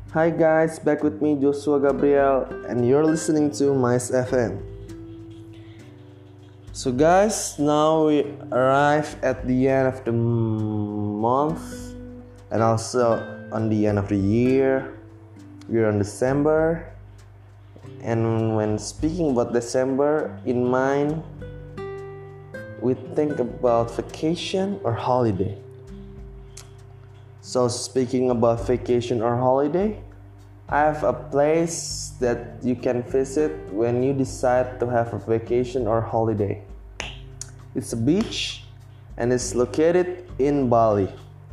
Hi guys, back with me Joshua Gabriel and you're listening to Mice FM. So guys, now we arrive at the end of the month and also on the end of the year. We're on December, and when speaking about December in mind, we think about vacation or holiday. So speaking about vacation or holiday, I have a place that you can visit when you decide to have a vacation or holiday. It's a beach and it's located in Bali.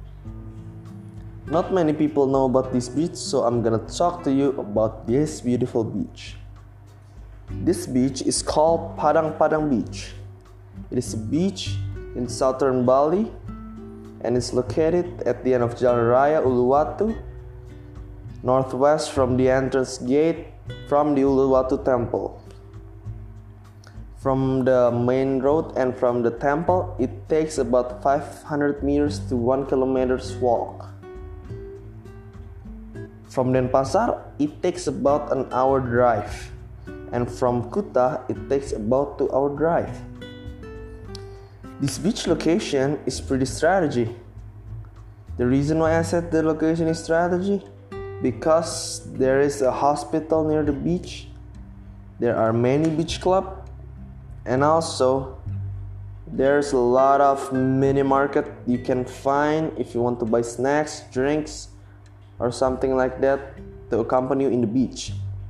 Not many people know about this beach, so I'm gonna talk to you about this beautiful beach. This beach is called Padang Padang Beach. It is a beach in southern Bali and it's located at the end of Jalan Raya Uluwatu, northwest from the entrance gate from the Uluwatu temple. From the main road and from the temple, it takes about 500 meters to 1 kilometer's walk. From Denpasar, it takes about an hour drive, and from Kuta, it takes about 2 hour drive. This beach location is pretty strategy. The reason why I said the location is strategy, because there is a hospital near the beach, there are many beach clubs, and also there's a lot of mini market you can find if you want to buy snacks, drinks, or something like that to accompany you in the beach.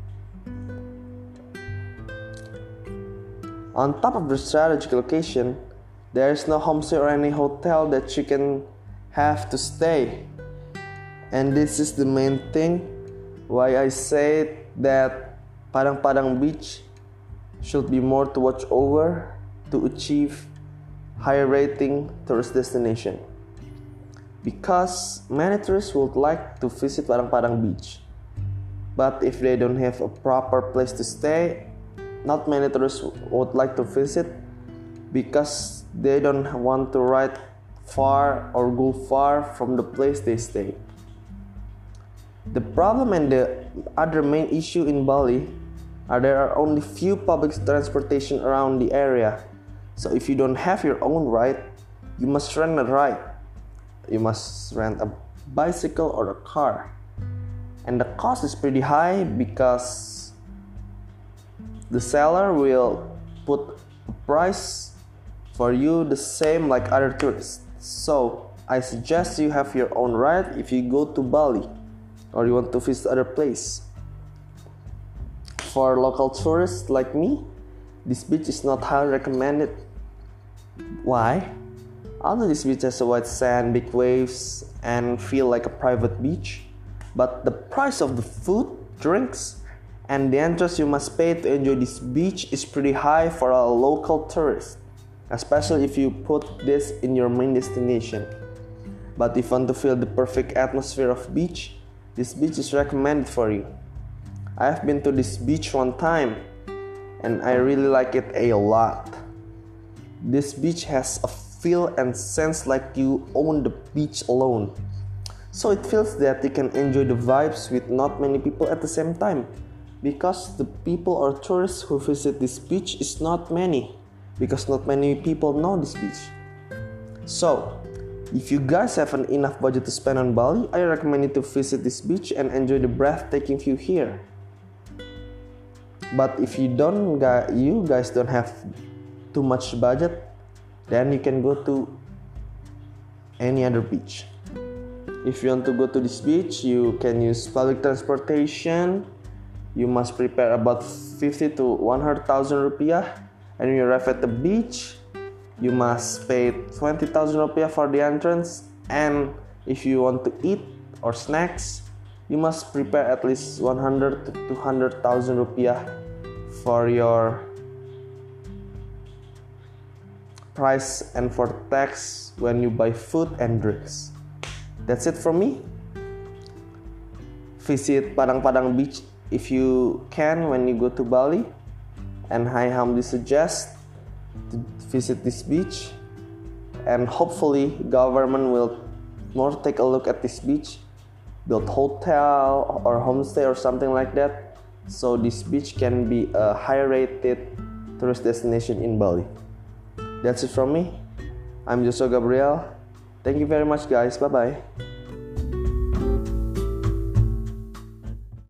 On top of the strategic location, there is no homestay or any hotel that you can have to stay. And this is the main thing why I say that Padang Padang Beach should be more to watch over to achieve higher rating tourist destination. Because many tourists would like to visit Padang Padang Beach, but if they don't have a proper place to stay, not many tourists would like to visit because they don't want to ride far or go far from the place they stay. The problem and the other main issue in Bali are there are only few public transportation around the area. So if you don't have your own ride, you must rent a ride. You must rent a bicycle or a car. And the cost is pretty high because the seller will put a price for you the same like other tourists. So I suggest you have your own ride if you go to Bali or you want to visit other place. For local tourists like me, this beach is not highly recommended. Why? Although this beach has a white sand, big waves, and feel like a private beach, but the price of the food, drinks, and the entrance you must pay to enjoy this beach is pretty high for a local tourist, especially if you put this in your main destination. But if you want to feel the perfect atmosphere of beach, this beach is recommended for you. I have been to this beach one time and I really like it a lot. This beach has a feel and sense like you own the beach alone. So it feels that you can enjoy the vibes with not many people at the same time, because the people or tourists who visit this beach is not many, because not many people know this beach. So if you guys have enough budget to spend on Bali, I recommend you to visit this beach and enjoy the breathtaking view here. But if you guys don't have too much budget, then you can go to any other beach. If you want to go to this beach, you can use public transportation. You must prepare about 50 to 100,000 rupiah, and when you arrive at the beach, you must pay 20,000 rupiah for the entrance. And if you want to eat or snacks, you must prepare at least 100 to 200,000 rupiah for your price and for tax when you buy food and drinks. That's it from me. Visit Padang Padang Beach if you can when you go to Bali, and I humbly suggest to visit this beach, and hopefully government will more take a look at this beach build hotel or homestay or something like that, so this beach can be a high rated tourist destination in Bali. That's it from me. I'm Joshua Gabriel. Thank you very much, guys. Bye bye.